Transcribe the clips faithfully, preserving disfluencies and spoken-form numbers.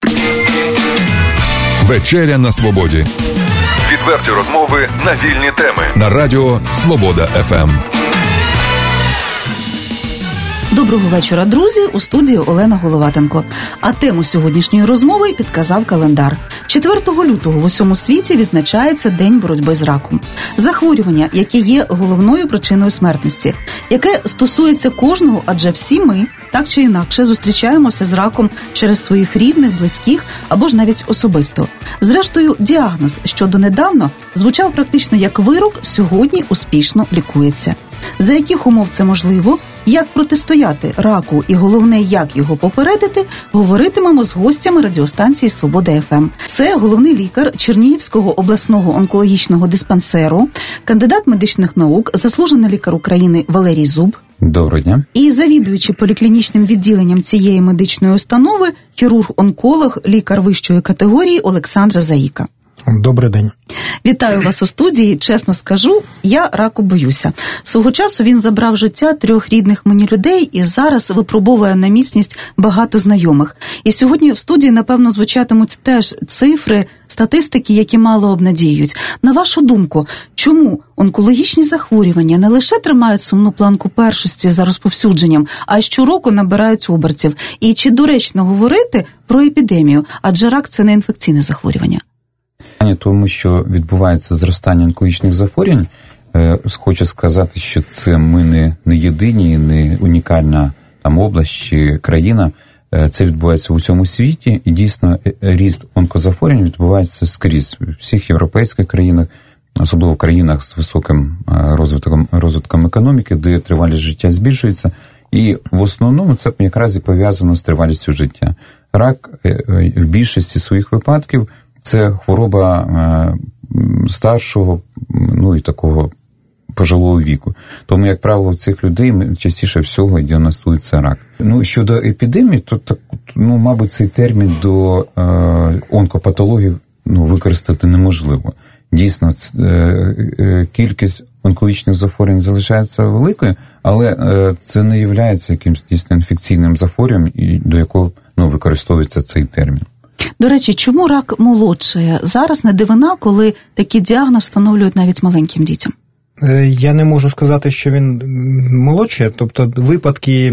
Вечеря на свободі. Відверті розмови на вільні теми. На радіо Свобода еф ем. Доброго вечора, друзі! У студії Олена Головатенко. А тему сьогоднішньої розмови підказав календар. четвертого лютого в усьому світі відзначається День боротьби з раком. Захворювання, яке є головною причиною смертності, яке стосується кожного, адже всі ми, так чи інакше, зустрічаємося з раком через своїх рідних, близьких або ж навіть особисто. Зрештою, діагноз, що донедавна звучав практично як вирок, сьогодні успішно лікується. За яких умов це можливо, як протистояти раку і головне, як його попередити, говоритимемо з гостями радіостанції «Свобода еф ем». Це головний лікар Чернігівського обласного онкологічного диспансеру, кандидат медичних наук, заслужений лікар України Валерій Зуб. Доброго дня. І завідуючий поліклінічним відділенням цієї медичної установи, хірург-онколог, лікар вищої категорії Олександр Заїка. Добрий день. Вітаю вас у студії. Чесно скажу, я раку боюся. Свого часу він забрав життя трьох рідних мені людей і зараз випробовує на міцність багато знайомих. І сьогодні в студії, напевно, звучатимуть теж цифри, статистики, які мало обнадіюють. На вашу думку, чому онкологічні захворювання не лише тримають сумну планку першості за розповсюдженням, а й щороку набирають обертів? І чи доречно говорити про епідемію? Адже рак – це не інфекційне захворювання. Тому що відбувається зростання онкологічних захворювань, хочу сказати, що це ми не, не єдині, не унікальна там область чи країна. Це відбувається в усьому світі, і дійсно ріст онкозахворювань відбувається скрізь. У всіх європейських країнах, особливо в країнах з високим розвитком, розвитком економіки, де тривалість життя збільшується. І в основному це якраз і пов'язано з тривалістю життя. Рак в більшості своїх випадків – це хвороба е, старшого, ну і такого пожилого віку. Тому, як правило, в цих людей частіше всього діагностується рак. Ну, щодо епідемії, то, так, ну, мабуть, цей термін до е, онкопатологів ну, використати неможливо. Дійсно, ц, е, е, кількість онкологічних захворювань залишається великою, але е, це не є якимось дійсно інфекційним захворюванням, до якого ну, використовується цей термін. До речі, чому рак молодшає? Зараз не дивина, коли такий діагноз встановлюють навіть маленьким дітям. Я не можу сказати, що він молодшає. Тобто випадки,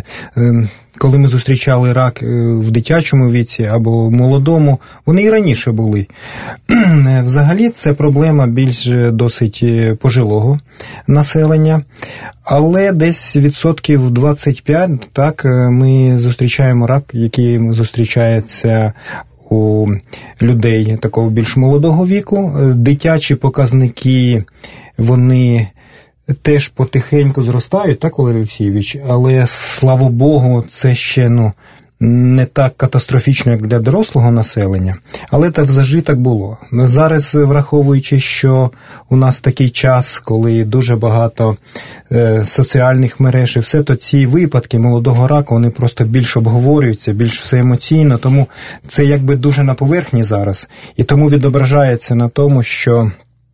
коли ми зустрічали рак в дитячому віці або в молодому, вони і раніше були. Взагалі це проблема більш досить пожилого населення. Але десь відсотків двадцять п'ять, так, ми зустрічаємо рак, який зустрічається у людей такого більш молодого віку. Дитячі показники, вони теж потихеньку зростають, так, Валерій Олексійович? Але, слава Богу, це ще, ну, не так катастрофічно, як для дорослого населення, але так завжди так було. Зараз, враховуючи, що у нас такий час, коли дуже багато е, соціальних мереж і все, то ці випадки молодого раку, вони просто більш обговорюються, більш все емоційно, тому це якби дуже на поверхні зараз. І тому відображається на тому, що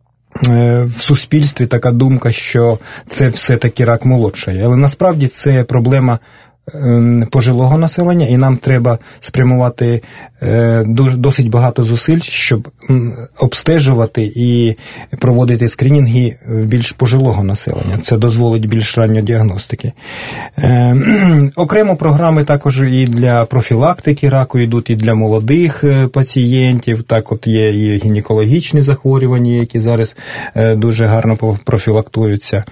в суспільстві така думка, що це все-таки рак молодший. Але насправді це проблема пожилого населення, і нам треба спрямувати досить багато зусиль, щоб обстежувати і проводити скринінги більш пожилого населення. Це дозволить більш ранньої діагностики. Окремо програми також і для профілактики раку йдуть, і для молодих пацієнтів. Так от є і гінекологічні захворювання, які зараз дуже гарно профілактуються.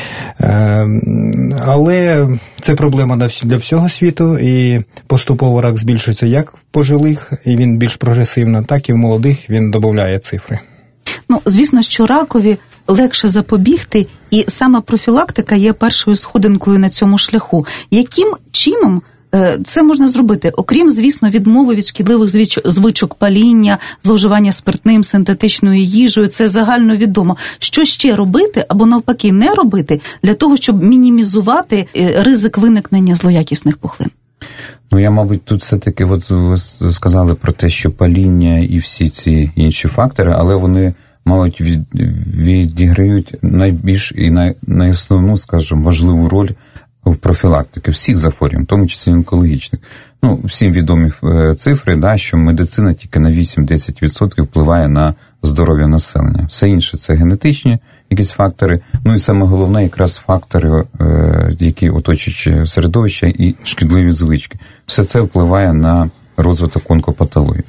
Але це проблема для всього світу, і поступово рак збільшується як в пожилих, і він більш прогресивно, так і в молодих він додає цифри. Ну, звісно, що ракові легше запобігти, і саме профілактика є першою сходинкою на цьому шляху. Яким чином це можна зробити? Окрім, звісно, відмови від шкідливих звичок паління, зловживання спиртним, синтетичною їжею, це загальновідомо. Що ще робити, або навпаки не робити, для того, щоб мінімізувати ризик виникнення злоякісних пухлин? Ну, я, мабуть, тут все-таки, от ви сказали про те, що паління і всі ці інші фактори, але вони, мабуть, від, відіграють найбільш і най, найосновну, скажімо, важливу роль в профілактики всіх захворювань, в тому числі онкологічних. Ну, всім відомі цифри, да, що медицина тільки на вісім-десять відсотків впливає на здоров'я населення. Все інше – це генетичні якісь фактори, ну і саме головне якраз фактори, які оточують середовище і шкідливі звички. Все це впливає на розвиток онкопатології.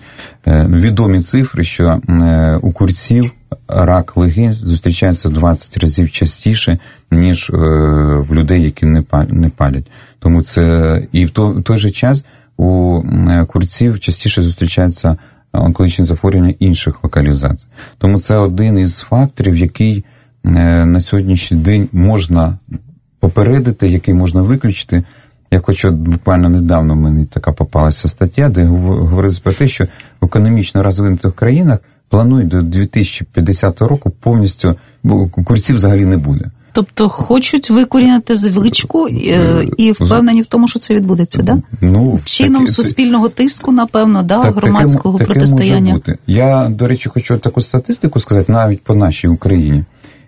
Відомі цифри, що у курців рак легень зустрічається в двадцять разів частіше, ніж в людей, які не палять. Тому це і в той, в той же час у курців частіше зустрічаються онкологічні захворювання інших локалізацій. Тому це один із факторів, який на сьогоднішній день можна попередити, який можна виключити. Я хочу, буквально недавно мені така попалася стаття, де говорилось про те, що в економічно розвинутих країнах планують до дві тисячі п'ятдесятого року повністю, бо курців взагалі не буде. Тобто хочуть викорінити звичку і впевнені в тому, що це відбудеться, да? Ну, чином таки, суспільного тиску, напевно, да, це, громадського таке, протистояння. Таке може бути. Я, до речі, хочу таку статистику сказати, навіть по нашій Україні.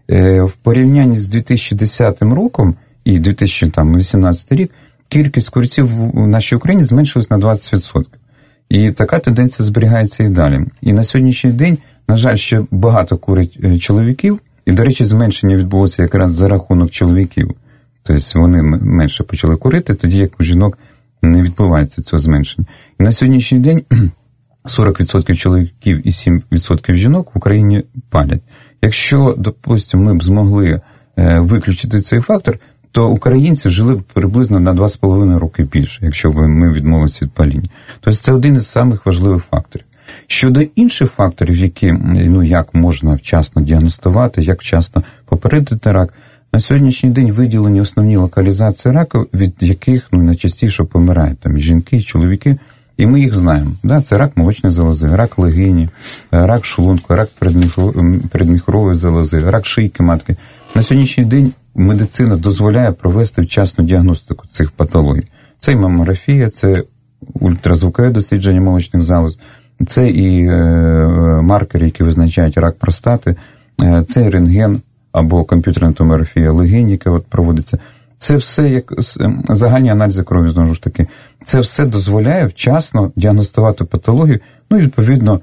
В порівнянні з дві тисячі десятим роком і дві тисячі вісімнадцятий рік кількість курців в нашій Україні зменшилась на двадцять відсотків. І така тенденція зберігається і далі. І на сьогоднішній день, на жаль, ще багато курять чоловіків. І, до речі, зменшення відбулося якраз за рахунок чоловіків. Тобто вони менше почали курити, тоді як у жінок не відбувається цього зменшення. І на сьогоднішній день сорок відсотків чоловіків і сім відсотків жінок в Україні палять. Якщо, допустимо, ми б змогли виключити цей фактор, то українці жили б приблизно на два з половиною роки більше, якщо б ми відмовилися від паління. Тобто це один із самих важливих факторів. Щодо інших факторів, які, ну, як можна вчасно діагностувати, як вчасно попередити рак, на сьогоднішній день виділені основні локалізації раку, від яких, ну, найчастіше помирають там і жінки, і чоловіки, і ми їх знаємо. Да? Це рак молочної залози, рак легені, рак шлунку, рак передміхорової залози, рак шийки матки. На сьогоднішній день медицина дозволяє провести вчасну діагностику цих патологій. Це і мамографія, це ультразвукове дослідження молочних залоз, це і е, маркери, які визначають рак простати, е, це і рентген або комп'ютерна томографія легень, яка от проводиться. Це все, як загальні аналізи крові, знову ж таки, це все дозволяє вчасно діагностувати патологію, ну і, відповідно,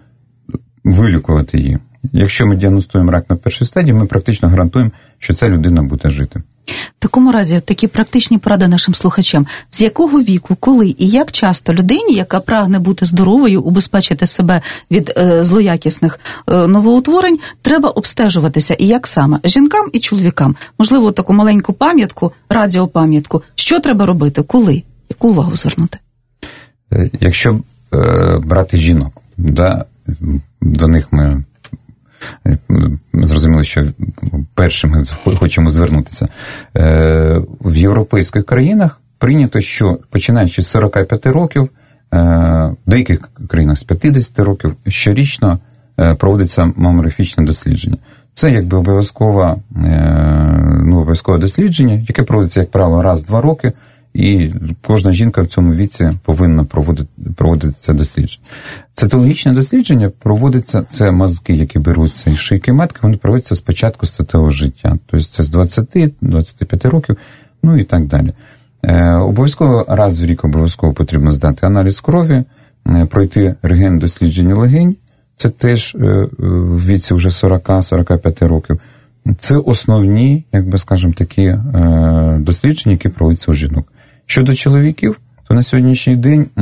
вилікувати її. Якщо ми діагностуємо рак на першій стадії, ми практично гарантуємо, що ця людина буде жити. В такому разі, такі практичні поради нашим слухачам. З якого віку, коли і як часто людині, яка прагне бути здоровою, убезпечити себе від е, злоякісних е, новоутворень, треба обстежуватися? І як саме? Жінкам і чоловікам? Можливо, таку маленьку пам'ятку, радіопам'ятку. Що треба робити? Коли? Яку увагу звернути? Якщо е, брати жінок, да, до них ми зрозуміло, що першим ми хочемо звернутися. В європейських країнах прийнято, що починаючи з сорока п'яти років, в деяких країнах з п'ятдесят років, щорічно проводиться мамографічне дослідження. Це якби обов'язкове, ну, обов'язкове дослідження, яке проводиться, як правило, раз в два роки, і кожна жінка в цьому віці повинна проводити, проводити це дослідження. Цитологічне дослідження проводиться, це мазки, які беруться із шийки матки, вони проводяться з початку статевого життя. Тобто це з двадцяти до двадцяти п'яти років, ну і так далі. Е, обов'язково раз в рік обов'язково потрібно здати аналіз крові, е, пройти рентген-дослідження легень, це теж е, в віці вже сорока-сорока п'яти років. Це основні, як би скажемо, такі е, дослідження, які проводяться у жінок. Щодо чоловіків, то на сьогоднішній день е,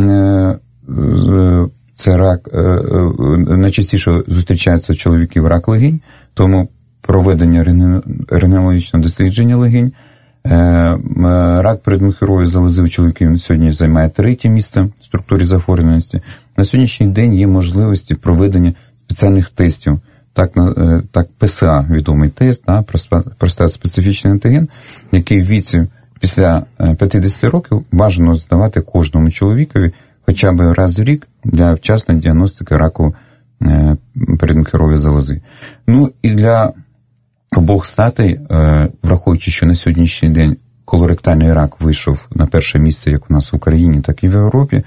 е, це рак, е, е, найчастіше зустрічається у чоловіків рак легень, тому проведення рентгенологічного дослідження легень. Е, е, рак передміхорової залози у чоловіків сьогодні займає третє місце в структурі захворюваності. На сьогоднішній день є можливості проведення спеціальних тестів. Так, так ПСА, відомий тест, да, простат-специфічний антиген, який в віці після п'ятдесят років бажано здавати кожному чоловікові хоча б раз в рік для вчасної діагностики раку передміхорової залози. Ну і для обох статей, враховуючи, що на сьогоднішній день колоректальний рак вийшов на перше місце як у нас в Україні, так і в Європі,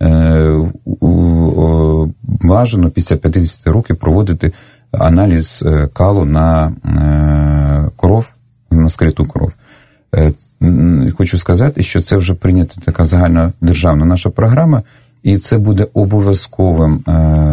бажано після п'ятдесят років проводити аналіз калу на кров, на скриту кров. Хочу сказати, що це вже прийнята така загальна державна наша програма, і це буде обов'язковим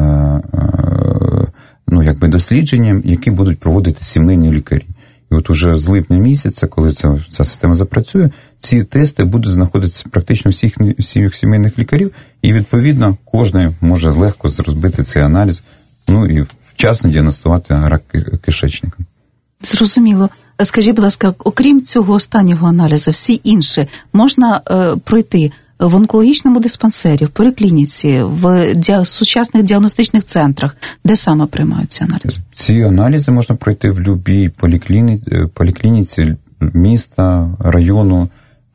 ну, якби дослідженням, які будуть проводити сімейні лікарі. І от уже з липня місяця, коли ця, ця система запрацює, ці тести будуть знаходитися практично всіх, всіх сімейних лікарів, і, відповідно, кожен може легко зробити цей аналіз, ну і вчасно діагностувати рак кишечника. Зрозуміло. Скажіть, будь ласка, окрім цього останнього аналізу, всі інші можна е, пройти в онкологічному диспансері, в поліклініці, в діа... сучасних діагностичних центрах, де саме приймаються аналізи? Ці аналізи можна пройти в будь-якій поліклініці, поліклініці міста, району,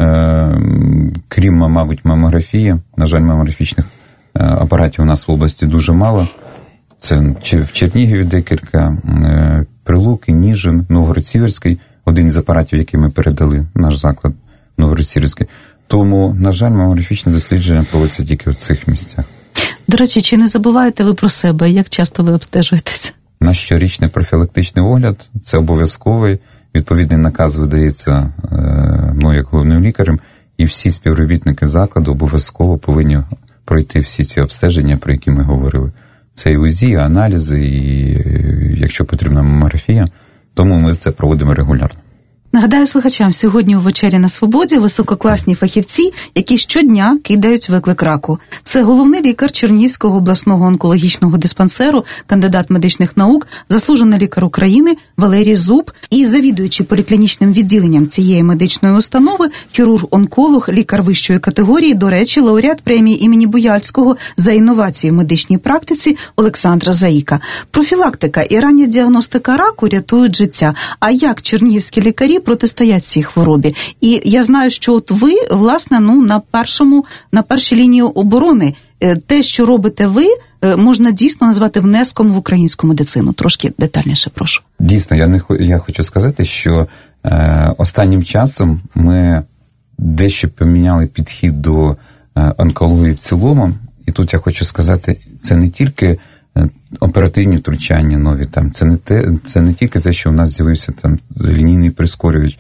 е, крім, мабуть, мамографії. На жаль, мамографічних апаратів у нас в області дуже мало. Це в Чернігові декілька, е, Прилуки, Ніжин, Новгород-Сіверський, один із апаратів, який ми передали, наш заклад Новгород-Сіверський. Тому, на жаль, мамографічне дослідження проводиться тільки в цих місцях. До речі, чи не забуваєте ви про себе? Як часто ви обстежуєтеся? Наш щорічний профілактичний огляд – це обов'язковий. Відповідний наказ видається мною як головним лікарем, і всі співробітники закладу обов'язково повинні пройти всі ці обстеження, про які ми говорили. Це і УЗІ, і аналізи, і, якщо потрібна, мамографія. Тому ми це проводимо регулярно. Нагадаю слухачам, сьогодні у «Вечері на свободі» висококласні фахівці, які щодня кидають виклик раку. Це головний лікар Чернігівського обласного онкологічного диспансеру, кандидат медичних наук, заслужений лікар України Валерій Зуб і завідуючий поліклінічним відділенням цієї медичної установи, хірург-онколог, лікар вищої категорії, до речі, лауреат премії імені Буяльського за інновації в медичній практиці Олександра Заїка. Профілактика і рання діагностика раку рятують життя. А як чернігівські лікарі протистоять цій хворобі? І я знаю, що от ви, власне, ну, на першому, на першій лінії оборони. Те, що робите ви, можна дійсно назвати внеском в українську медицину. Трошки детальніше, прошу. Дійсно, я, не, я хочу сказати, що е, останнім часом ми дещо поміняли підхід до е, онкології в цілому. І тут я хочу сказати, це не тільки оперативні втручання нові, там, це не те, це не тільки те, що у нас з'явився там лінійний прискорювач,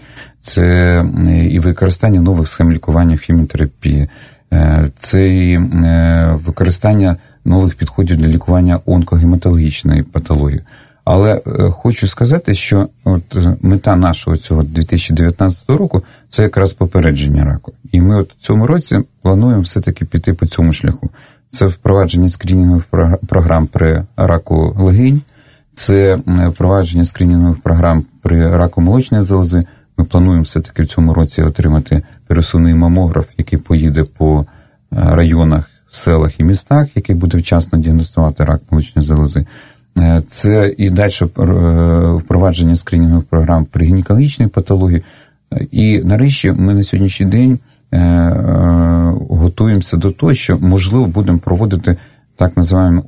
це і використання нових схем лікування в хіміотерапії, це і використання нових підходів для лікування онкогематологічної патології. Але хочу сказати, що от мета нашого цього дві тисячі дев'ятнадцятого року – це якраз попередження раку. І ми от в цьому році плануємо все-таки піти по цьому шляху. Це впровадження скринінгових програм при раку легень, це впровадження скринінгових програм при раку молочної залози. Ми плануємо все-таки в цьому році отримати пересувний мамограф, який поїде по районах, селах і містах, який буде вчасно діагностувати рак молочної залози. Це і далі впровадження скринінгових програм при гінекологічній патології. І нарешті ми на сьогоднішній день готуємося до того, що, можливо, будемо проводити так називаємо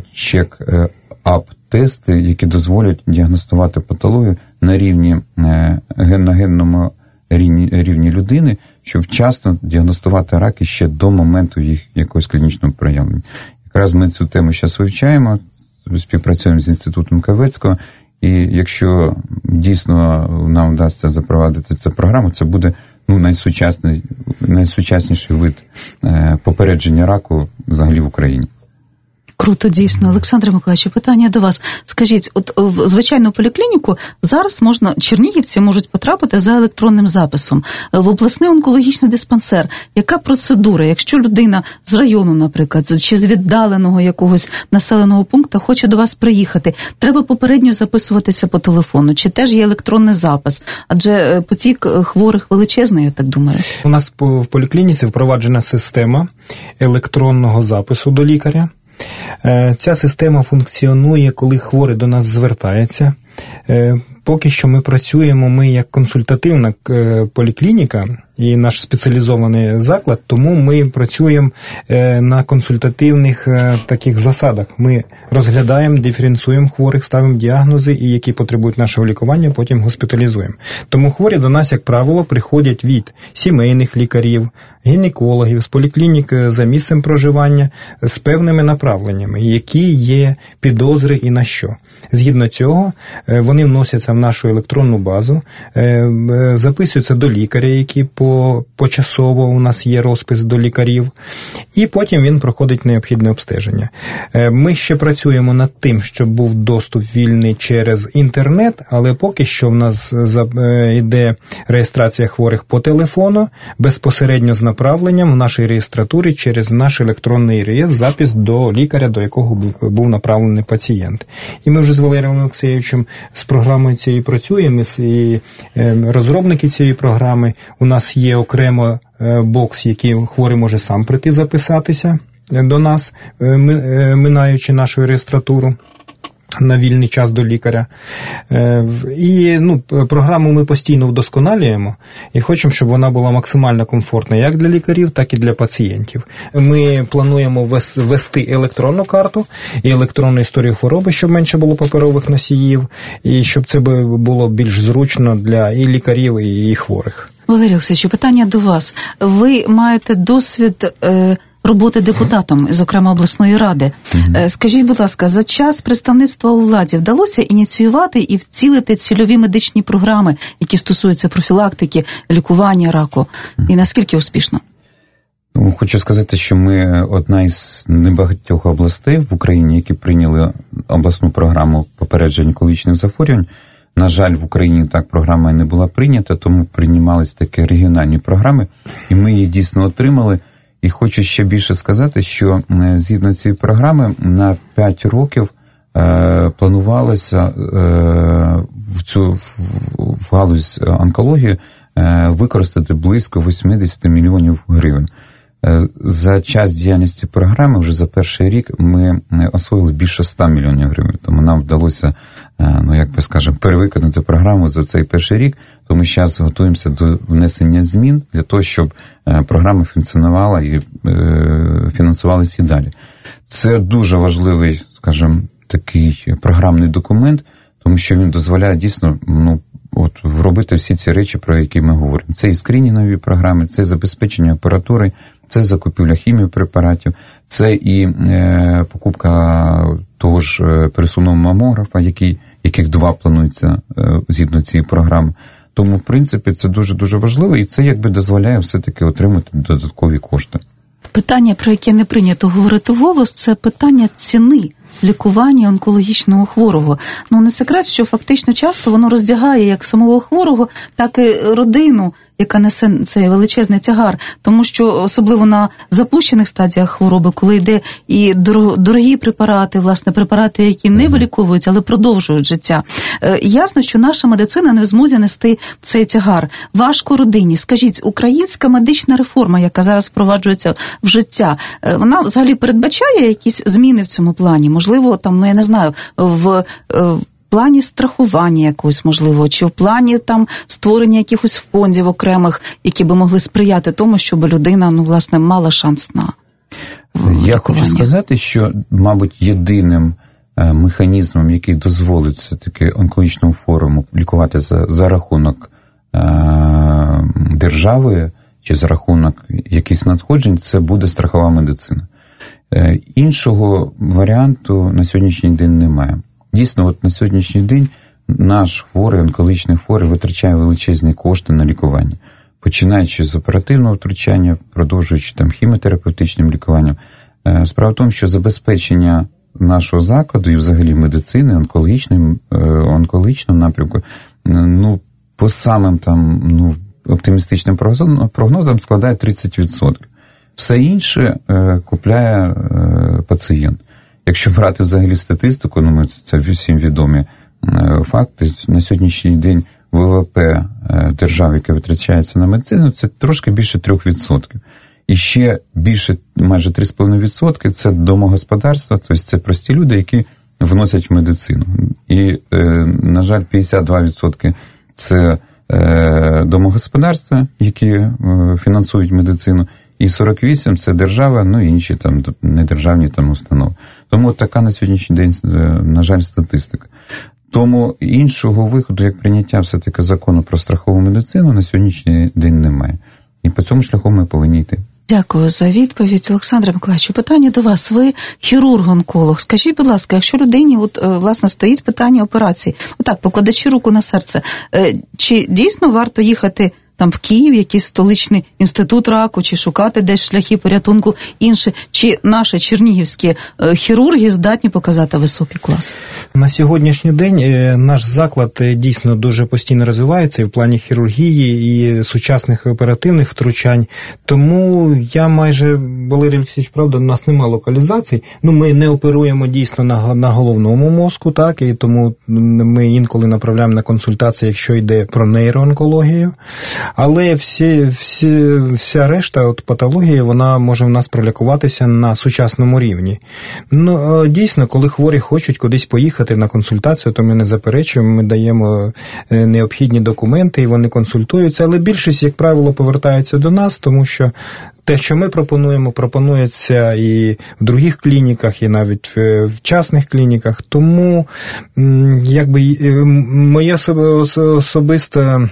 онкочек-ап-тести, які дозволять діагностувати патологію на рівні, на генному рівні, рівні людини, щоб вчасно діагностувати раки ще до моменту їх якогось клінічного проявлення. Якраз ми цю тему зараз вивчаємо, співпрацюємо з інститутом Кавецького, і якщо дійсно нам вдасться запровадити цю програму, це буде ну, найсучасний, найсучасніший вид е, попередження раку взагалі в Україні. Круто, дійсно. Олександре Миколаївичу, питання до вас. Скажіть, от в звичайну поліклініку зараз можна, чернігівці можуть потрапити за електронним записом в обласний онкологічний диспансер. Яка процедура, якщо людина з району, наприклад, чи з віддаленого якогось населеного пункту хоче до вас приїхати, треба попередньо записуватися по телефону, чи теж є електронний запис? Адже потік хворих величезний, я так думаю. У нас в поліклініці впроваджена система електронного запису до лікаря. Ця система функціонує, коли хворий до нас звертається. Поки що ми працюємо, ми як консультативна поліклініка і наш спеціалізований заклад, тому ми працюємо на консультативних таких засадах. Ми розглядаємо, диференціюємо хворих, ставимо діагнози, і які потребують нашого лікування, потім госпіталізуємо. Тому хворі до нас, як правило, приходять від сімейних лікарів, гінекологів, з поліклінік за місцем проживання, з певними направленнями, які є підозри і на що. Згідно цього, вони вносяться в нашу електронну базу, записуються до лікаря, який по, почасово у нас є розпис до лікарів, і потім він проходить необхідне обстеження. Ми ще працюємо над тим, щоб був доступ вільний через інтернет, але поки що в нас йде реєстрація хворих по телефону, безпосередньо з направленням в нашій реєстратурі через наш електронний реєстр, запис до лікаря, до якого був направлений пацієнт. І ми вже з Валерієм Олексійовичем з програмою цією працюємо, і розробники цієї програми. У нас є окремо бокс, який хворий може сам прийти записатися до нас, минаючи нашу реєстратуру на вільний час до лікаря. І ну, програму ми постійно вдосконалюємо і хочемо, щоб вона була максимально комфортна як для лікарів, так і для пацієнтів. Ми плануємо ввести електронну карту і електронну історію хвороби, щоб менше було паперових носіїв, і щоб це було більш зручно для і лікарів, і хворих. Валерій Олексійович, питання до вас. Ви маєте досвід е, роботи депутатом, зокрема обласної ради. Mm-hmm. Скажіть, будь ласка, за час представництва у владі вдалося ініціювати і вцілити цільові медичні програми, які стосуються профілактики, лікування раку? Mm-hmm. І наскільки успішно? Ну, хочу сказати, що ми одна із небагатьох областей в Україні, які прийняли обласну програму попередження онкологічних захворювань. На жаль, в Україні так програма не була прийнята, тому приймалися такі регіональні програми, і ми її дійсно отримали. І хочу ще більше сказати, що згідно цієї програми на п'ять років е, планувалося е, в цю в, в галузь онкології е, використати близько вісімдесят мільйонів гривень. Е, за час діяльності програми вже за перший рік ми освоїли більше ста мільйонів гривень, тому нам вдалося, е, ну як би скажемо, перевиконати програму за цей перший рік. Тому зараз готуємося до внесення змін для того, щоб програма функціонувала і е, фінансувалася і далі. Це дуже важливий, скажімо, такий програмний документ, тому що він дозволяє дійсно ну, от, робити всі ці речі, про які ми говоримо. Це і скринінгові програми, це забезпечення апаратури, це закупівля хіміопрепаратів, це і е, покупка того ж пересувного мамографа, який, яких два планується е, згідно цієї програми. Тому, в принципі, це дуже-дуже важливо, і це якби дозволяє все-таки отримати додаткові кошти. Питання, про яке не прийнято говорити вголос, це питання ціни лікування онкологічного хворого. Ну, не секрет, що фактично часто воно роздягає як самого хворого, так і родину, яка несе цей величезний тягар. Тому що, особливо на запущених стадіях хвороби, коли йде і дорогі препарати, власне, препарати, які не виліковуються, але продовжують життя. Е, ясно, що наша медицина не в змозі нести цей тягар. Важко родині. Скажіть, українська медична реформа, яка зараз впроваджується в життя, е, вона взагалі передбачає якісь зміни в цьому плані? Можливо, там, ну я не знаю, в... в плані страхування якогось, можливо, чи в плані там створення якихось фондів окремих, які би могли сприяти тому, щоб людина, ну, власне, мала шанс на лікування. Я хочу сказати, що, мабуть, єдиним механізмом, який дозволить все-таки онкологічному форуму лікувати за, за рахунок е- держави чи за рахунок якихось надходжень, це буде страхова медицина. Е- іншого варіанту на сьогоднішній день немає. Дійсно, от на сьогоднішній день наш хворий, онкологічний хворий витрачає величезні кошти на лікування. Починаючи з оперативного втручання, продовжуючи там хіміотерапевтичним лікуванням. Справа в тому, що забезпечення нашого закладу і взагалі медицини, онкологічним, онкологічного напрямку, ну, по самим там, ну, оптимістичним прогнозам складає тридцять відсотків. Все інше купляє пацієнт. Якщо брати взагалі статистику, ну, ми, це всім відомі факти, на сьогоднішній день ВВП держави, яке витрачається на медицину, це трошки більше трьох відсотків. І ще більше, майже три цілих п'ять десятих відсотка це домогосподарства, тобто це прості люди, які вносять в медицину. І, на жаль, п'ятдесят два відсотки це домогосподарства, які фінансують медицину, і сорок вісім відсотків це держава, ну і інші там недержавні там установи. Тому така на сьогоднішній день, на жаль, статистика. Тому іншого виходу, як прийняття все-таки закону про страхову медицину, на сьогоднішній день немає. І по цьому шляху ми повинні йти. Дякую за відповідь. Олександре Миколаївичу, питання до вас. Ви хірург-онколог. Скажіть, будь ласка, якщо людині, от, власне, стоїть питання операції, отак, покладачи руку на серце, чи дійсно варто їхати там в Київ, якийсь столичний інститут раку, чи шукати десь шляхи порятунку інше, чи наші чернігівські хірурги здатні показати високий клас? На сьогоднішній день наш заклад дійсно дуже постійно розвивається і в плані хірургії, і сучасних оперативних втручань. Тому я майже, Валерій Олексійович, правда, у нас немає локалізацій. Ну, ми не оперуємо дійсно на, на головному мозку, так, і тому ми інколи направляємо на консультації, якщо йде про нейроонкологію. Але всі, всі, вся решта от патології, вона може в нас пролікуватися на сучасному рівні. Ну, дійсно, коли хворі хочуть кудись поїхати на консультацію, то ми не заперечуємо, ми даємо необхідні документи, і вони консультуються, але більшість, як правило, повертається до нас, тому що те, що ми пропонуємо, пропонується і в других клініках, і навіть в частних клініках. Тому, якби, моє особисте,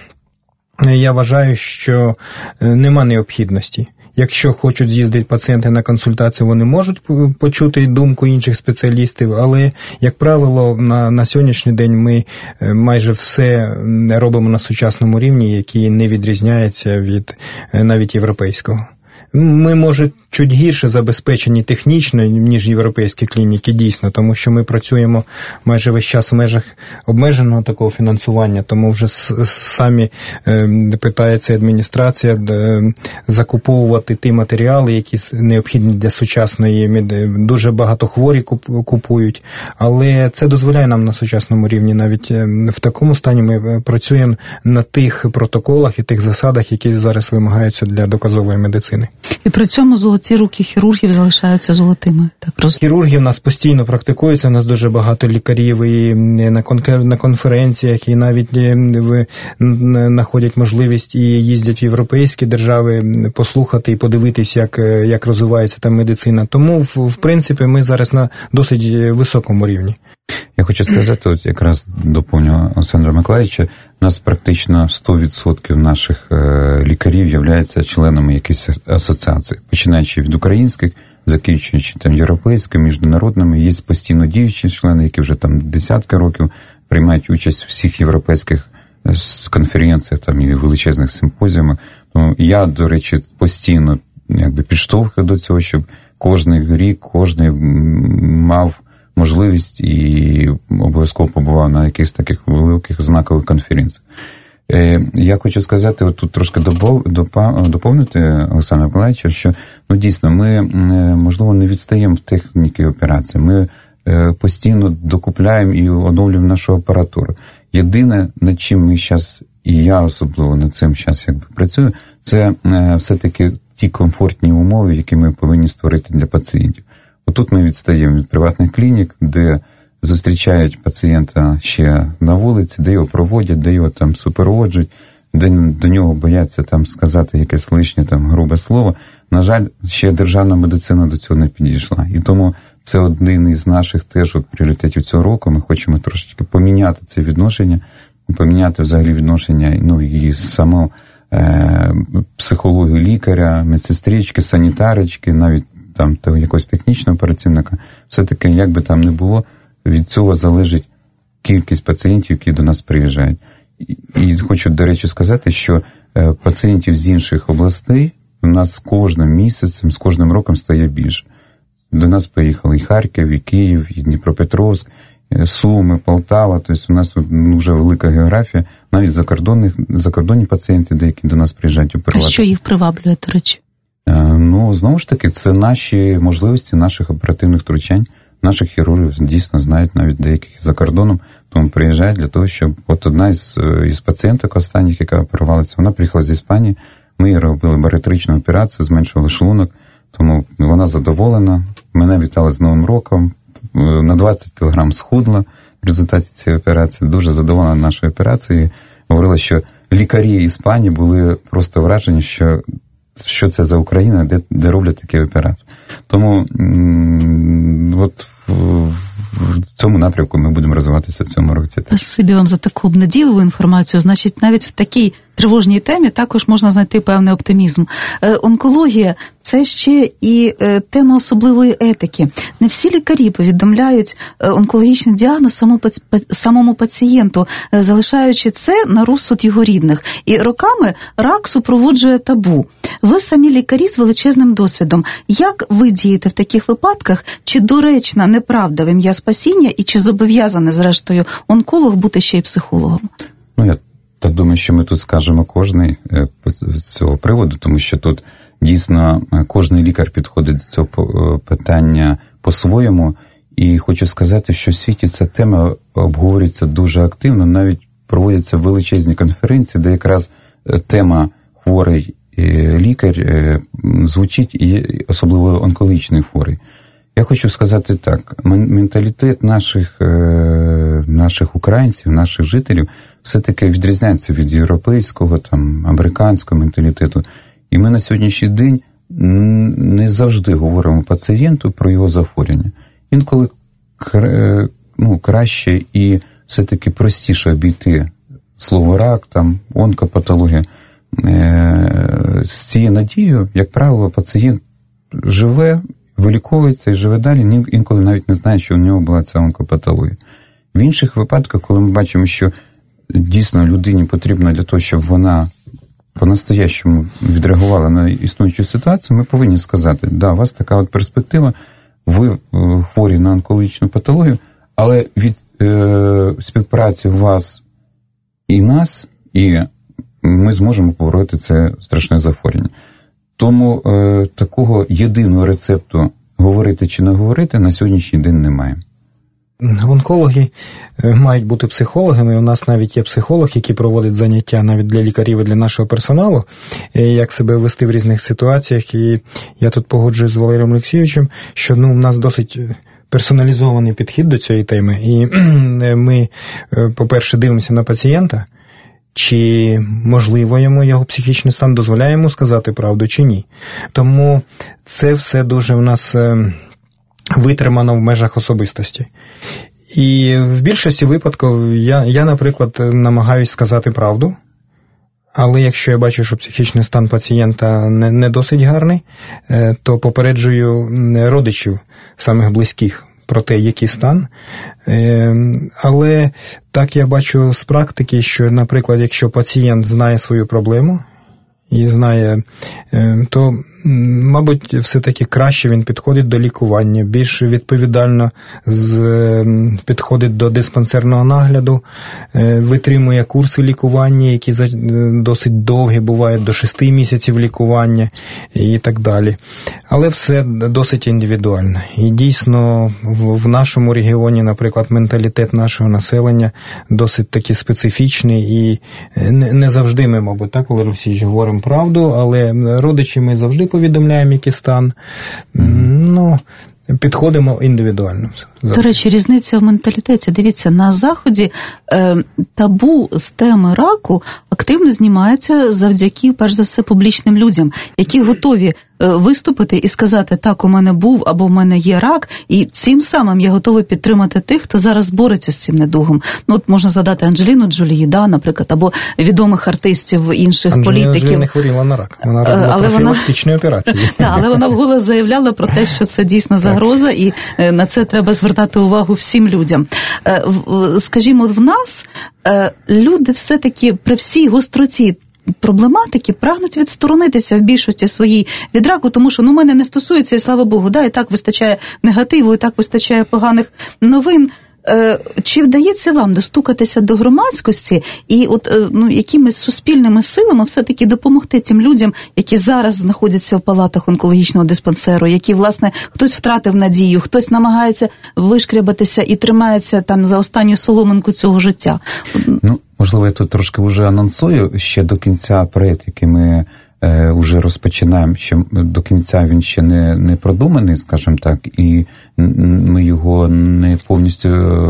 я вважаю, що нема необхідності. Якщо хочуть з'їздити пацієнти на консультацію, вони можуть почути думку інших спеціалістів, але, як правило, на, на сьогоднішній день ми майже все робимо на сучасному рівні, який не відрізняється від навіть європейського. Ми, може, чуть гірше забезпечені технічно, ніж європейські клініки, дійсно, тому що ми працюємо майже весь час в межах обмеженого такого фінансування, тому вже самі е, питається адміністрація е, закуповувати ті матеріали, які необхідні для сучасної медицини. Дуже багато хворі купують, але це дозволяє нам на сучасному рівні. Навіть в такому стані ми працюємо на тих протоколах і тих засадах, які зараз вимагаються для доказової медицини. І при цьому золоті руки хірургів залишаються золотими. Так роз... Хірурги в нас постійно практикуються, у нас дуже багато лікарів і на, кон- на конференціях, і навіть в, знаходять можливість і їздять в європейські держави послухати і подивитись, як, як розвивається там медицина. Тому, в, в принципі, ми зараз на досить високому рівні. Я хочу сказати, от якраз доповню Олександра Миколаївича, у нас практично сто відсотків наших лікарів являються членами якихось асоціацій, починаючи від українських, закінчуючи там європейськими, міжнародними. Є постійно діючі члени, які вже там десятки років приймають участь у всіх європейських конференціях там, і величезних симпозіумах. Тому я, до речі, постійно якби підштовхую до цього, щоб кожний рік, кожний мав можливість і обов'язково побував на якихось таких великих знакових конференціях. Я хочу сказати, от тут трошки доповнити Олександра Миколаївича, що ну, дійсно ми, можливо, не відстаємо в техніці операції. Ми постійно докупляємо і оновлюємо нашу апаратуру. Єдине, над чим ми зараз, і я особливо над цим зараз якби працюю, це все-таки ті комфортні умови, які ми повинні створити для пацієнтів. Отут ми відстаємо від приватних клінік, де зустрічають пацієнта ще на вулиці, де його проводять, де його там супроводжують, де до нього бояться там сказати якесь лишнє там грубе слово. На жаль, ще державна медицина до цього не підійшла. І тому це один із наших теж от пріоритетів цього року. Ми хочемо трошечки поміняти це відношення, поміняти взагалі відношення, ну і саму е, психологію лікаря, медсестрички, санітарички, навіть там якогось технічного оперативника. Все-таки, як би там не було, від цього залежить кількість пацієнтів, які до нас приїжджають. І, і хочу, до речі, сказати, що е, пацієнтів з інших областей у нас з кожним місяцем, з кожним роком стає більше. До нас поїхали і Харків, і Київ, і Дніпропетровськ, і Суми, Полтава. Тобто у нас дуже велика географія. Навіть закордонних, закордонні пацієнти деякі до нас приїжджають оперуватися. А що їх приваблює, до речі? Ну, знову ж таки, це наші можливості наших оперативних втручань. Наших хірургів дійсно знають навіть деяких за кордоном, тому приїжджають для того, щоб... От одна із, із пацієнток останніх, яка оперувалася, вона приїхала з Іспанії, ми їй робили баріатричну операцію, зменшували шлунок, тому вона задоволена, мене вітали з Новим роком, на двадцять кілограм схудла в результаті цієї операції, дуже задоволена нашою операцією, говорила, що лікарі Іспанії були просто вражені, що що це за Україна, де, де роблять такі операції. Тому м- от в, в цьому напрямку ми будемо розвиватися в цьому році. Спасибі вам за таку обнадійливу інформацію. Значить, навіть в такий тривожній темі також можна знайти певний оптимізм. Онкологія – це ще і тема особливої етики. Не всі лікарі повідомляють онкологічний діагноз самому пацієнту, залишаючи це на розсуд його рідних. І роками рак супроводжує табу. Ви самі лікарі з величезним досвідом. Як ви дієте в таких випадках? Чи доречна неправда в ім'я спасіння і чи зобов'язаний, зрештою, онколог бути ще й психологом? Ну, я так думаю, що ми тут скажемо кожний з цього приводу, тому що тут дійсно кожний лікар підходить до цього питання по-своєму. І хочу сказати, що в світі ця тема обговорюється дуже активно, навіть проводяться величезні конференції, де якраз тема хворий лікар звучить, і особливо онкологічний хворий. Я хочу сказати так, менталітет наших, наших українців, наших жителів все-таки відрізняється від європейського, там, американського менталітету. І ми на сьогоднішній день не завжди говоримо пацієнту про його захворювання. Інколи ну, краще і все-таки простіше обійти слово рак, там, онкопатологія. З цією надією, як правило, пацієнт живе, виліковується і живе далі, інколи навіть не знає, що у нього була ця онкопатологія. В інших випадках, коли ми бачимо, що дійсно людині потрібно для того, щоб вона по-настоящому відреагувала на існуючу ситуацію, ми повинні сказати, да, у вас така от перспектива, ви хворі на онкологічну патологію, але від е, співпраці вас і нас, і ми зможемо побороти це страшне захворювання. Тому е, такого єдиного рецепту говорити чи не говорити на сьогоднішній день немає. Онкологи мають бути психологами. У нас навіть є психолог, який проводить заняття навіть для лікарів і для нашого персоналу, як себе вести в різних ситуаціях. І я тут погоджуюсь з Валерієм Олексійовичем, що ну, у нас досить персоналізований підхід до цієї теми. І ми, по-перше, дивимося на пацієнта, чи можливо йому його психічний стан дозволяє йому сказати правду, чи ні. Тому це все дуже в нас витримано в межах особистості. І в більшості випадків я, я, наприклад, намагаюсь сказати правду, але якщо я бачу, що психічний стан пацієнта не, не досить гарний, то попереджую родичів, самих близьких, про те, який стан. Але так я бачу з практики, що, наприклад, якщо пацієнт знає свою проблему і знає, то, мабуть, все-таки краще він підходить до лікування, більш відповідально з, підходить до диспансерного нагляду, витримує курси лікування, які досить довгі, бувають до шести місяців лікування і так далі. Але все досить індивідуально. І дійсно в нашому регіоні, наприклад, менталітет нашого населення досить таки специфічний, і не завжди ми, мабуть, так, Валерій Олексійович, говоримо правду, але родичі ми завжди повідомляємо, який стан. Mm. Ну, підходимо індивідуально. До речі, різниця в менталітеті. Дивіться, на Заході е, табу з теми раку активно знімається завдяки, перш за все, публічним людям, які готові е, виступити і сказати, так, у мене був або в мене є рак, і цим самим я готовий підтримати тих, хто зараз бореться з цим недугом. Ну, от можна згадати Анджеліну Джолі, да, наприклад, або відомих артистів, інших Анджеліна політиків. Анджеліна не хворіла на рак, вона робила профілактичні операції. Так, але вона вголос заявляла про те, що це дійсно загроза, і на це треба звертати увагу всім людям. Скажімо, в нас люди все-таки при всій гостроті проблематики прагнуть відсторонитися в більшості своїй від раку, тому що, ну, мене не стосується, і слава Богу, да, і так вистачає негативу, і так вистачає поганих новин. Чи вдається вам достукатися до громадськості і от, ну, якимись суспільними силами все-таки допомогти тим людям, які зараз знаходяться в палатах онкологічного диспансеру, які, власне, хтось втратив надію, хтось намагається вишкрябатися і тримається там за останню соломинку цього життя? Ну, можливо, я тут трошки вже анонсую, ще до кінця проєкт, який ми е, вже розпочинаємо, ще до кінця він ще не, не продуманий, скажімо так, і ми його не повністю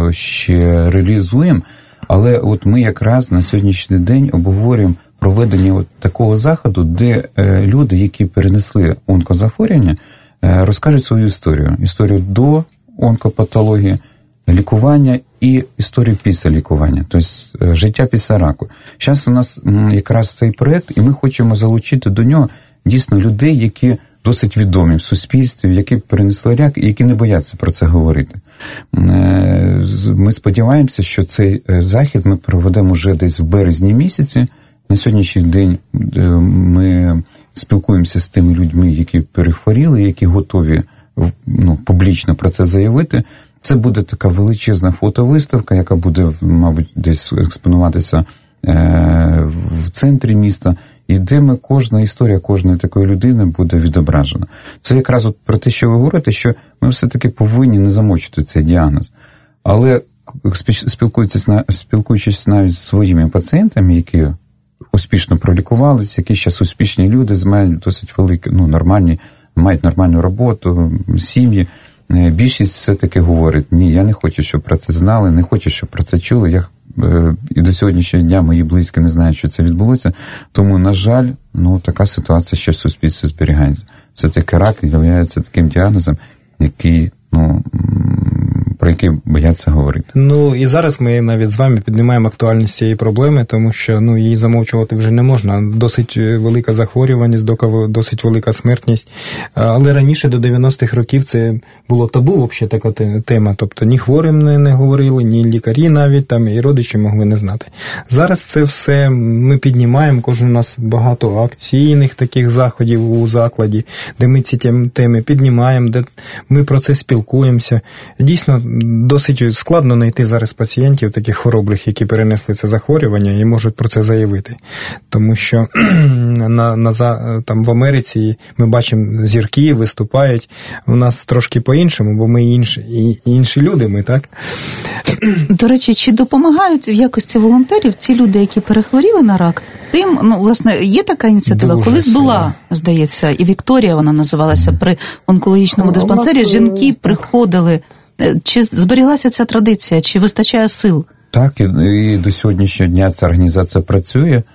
ще реалізуємо, але от ми якраз на сьогоднішній день обговорюємо проведення от такого заходу, де е, люди, які перенесли онкозахворювання, е, розкажуть свою історію. Історію до онкопатології, лікування і історію після лікування, тобто життя після раку. Зараз у нас якраз цей проєкт, і ми хочемо залучити до нього дійсно людей, які досить відомі в суспільстві, які перенесли рак і які не бояться про це говорити. Ми сподіваємося, що цей захід ми проведемо вже десь в березні місяці. На сьогоднішній день ми спілкуємося з тими людьми, які перехворіли, які готові ну, публічно про це заявити. Це буде така величезна фотовиставка, яка буде, мабуть, десь експонуватися е- в центрі міста, і де ми, кожна історія кожної такої людини буде відображена. Це якраз от про те, що ви говорите, що ми все-таки повинні не замовчувати цей діагноз. Але спілкуючись, спілкуючись навіть з своїми пацієнтами, які успішно пролікувалися, які зараз успішні люди, мають досить великі, ну, нормальні, мають нормальну роботу, сім'ї, більшість все-таки говорить, ні, я не хочу, щоб про це знали, не хочу, щоб про це чули. Я, е, і до сьогоднішнього дня мої близькі не знають, що це відбулося. Тому, на жаль, ну, така ситуація ще в суспільстві зберігається. Все-таки рак є таким діагнозом, який, ну, про який бояться говорити. Ну, і зараз ми навіть з вами піднімаємо актуальність цієї проблеми, тому що, ну, її замовчувати вже не можна. Досить велика захворюваність, досить велика смертність. Але раніше, до дев'яностих років, це було табу, взагалі, така тема. Тобто, ні хворим не, не говорили, ні лікарі навіть, там, і родичі могли не знати. Зараз це все ми піднімаємо, кожен у нас багато акційних таких заходів у закладі, де ми ці теми піднімаємо, де ми про це спілкуємося. Дійсно, досить складно знайти зараз пацієнтів, таких хоробрих, які перенесли це захворювання і можуть про це заявити. Тому що на, на, там в Америці ми бачимо, зірки виступають. У нас трошки по-іншому, бо ми інші, і, інші люди, ми, так? До речі, чи допомагають в якості волонтерів ці люди, які перехворіли на рак? Тим, ну, власне, є така ініціатива, дуже колись сильно. Була, здається, і Вікторія вона називалася, при онкологічному Ну, диспансері, нас, жінки так. приходили. Чи зберіглася ця традиція, чи вистачає сил? Так, і, і до сьогоднішнього дня ця організація працює,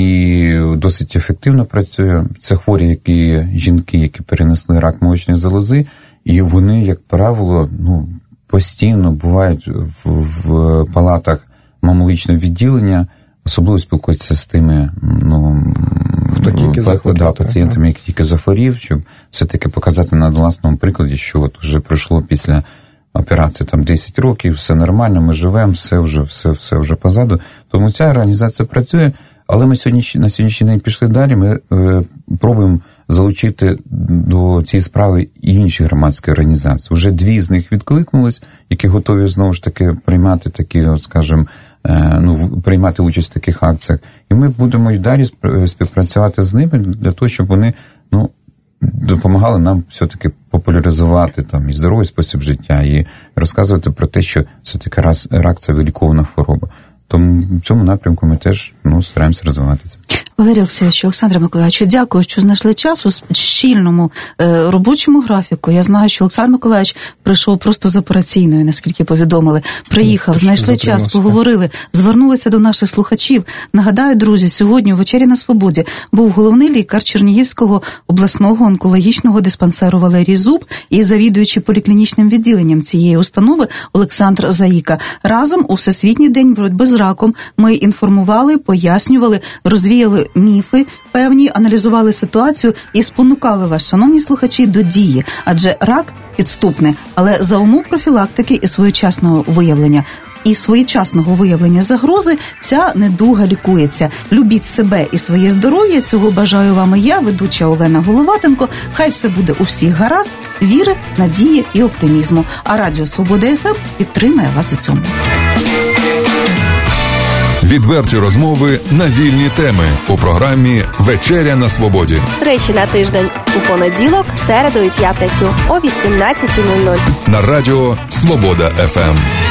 і досить ефективно працює. Це хворі, які жінки, які перенесли рак молочної залози, і вони, як правило, ну, постійно бувають в, в палатах мамологічного відділення, особливо спілкуються з тими, ну, хто тільки захворів, да, пацієнтами, які тільки захворів, щоб все-таки показати на власному прикладі, що от вже пройшло після операції там десять років, все нормально, ми живемо, все вже, все, все вже позаду. Тому ця організація працює, але ми сьогодні, на сьогоднішній день пішли далі, ми е, пробуємо залучити до цієї справи і інші громадські організації. Уже дві з них відкликнулись, які готові знову ж таки приймати такі, от, скажімо, е, ну, приймати участь в таких акціях. І ми будемо і далі співпрацювати з ними для того, щоб вони, ну, допомагали нам все-таки популяризувати там і здоровий спосіб життя, і розказувати про те, що все-таки рак – це вилікована хвороба. Тому в цьому напрямку ми теж, ну, стараємося розвиватися. Валерій Олексійович, Олександр Миколаївич, дякую, що знайшли час у щільному е, робочому графіку. Я знаю, що Олександр Миколаївич прийшов просто з операційної, наскільки повідомили. Приїхав, знайшли час, поговорили, звернулися до наших слухачів. Нагадаю, друзі, сьогодні у «Вечері на Свободі» був головний лікар Чернігівського обласного онкологічного диспансеру Валерій Зуб і завідуючий поліклінічним відділенням цієї установи Олександр Заїка. Разом у Всесвітній день боротьби з раком ми інформували, пояснювали, розвіяли міфи певні, аналізували ситуацію і спонукали вас, шановні слухачі, до дії. Адже рак підступний, але за умов профілактики і своєчасного виявлення і своєчасного виявлення загрози ця недуга лікується. Любіть себе і своє здоров'я. Цього бажаю вам і я, ведуча Олена Головатенко. Хай все буде у всіх гаразд, віри, надії і оптимізму. А Радіо Свобода еф ем підтримає вас у цьому. Відверті розмови на вільні теми у програмі «Вечеря на Свободі». Тричі на тиждень у понеділок, середу і п'ятницю о вісімнадцятій нуль нуль. На радіо «Свобода еф ем».